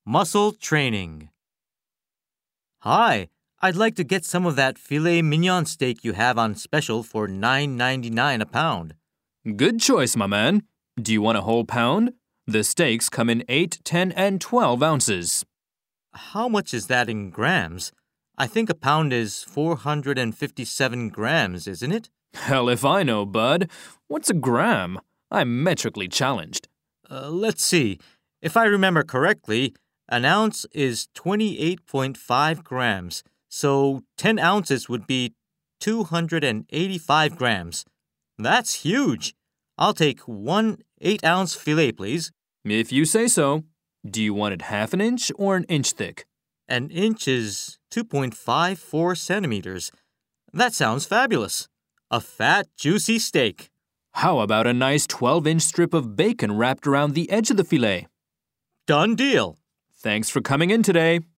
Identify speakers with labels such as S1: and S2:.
S1: Muscle training. Hi, I'd like to get some of that filet mignon steak you have on special for $9.99 a pound.
S2: Good choice, my man. Do you want a whole pound? The steaks come in 8, 10, and 12 ounces.
S1: How much is that in grams? I think a pound is 457 grams, isn't it?
S2: Hell if I know, bud. What's a gram? I'm metrically challenged.
S1: Let's see. If I remember correctly, an ounce is 28.5 grams, so 10 ounces would be 285 grams. That's huge. I'll take one 8-ounce filet, please.
S2: If you say so. Do you want it half an inch or an inch thick?
S1: An inch is 2.54 centimeters. That sounds fabulous. A fat, juicy steak.
S2: How about a nice 12-inch strip of bacon wrapped around the edge of the filet?
S1: Done deal.
S2: Thanks for coming in today.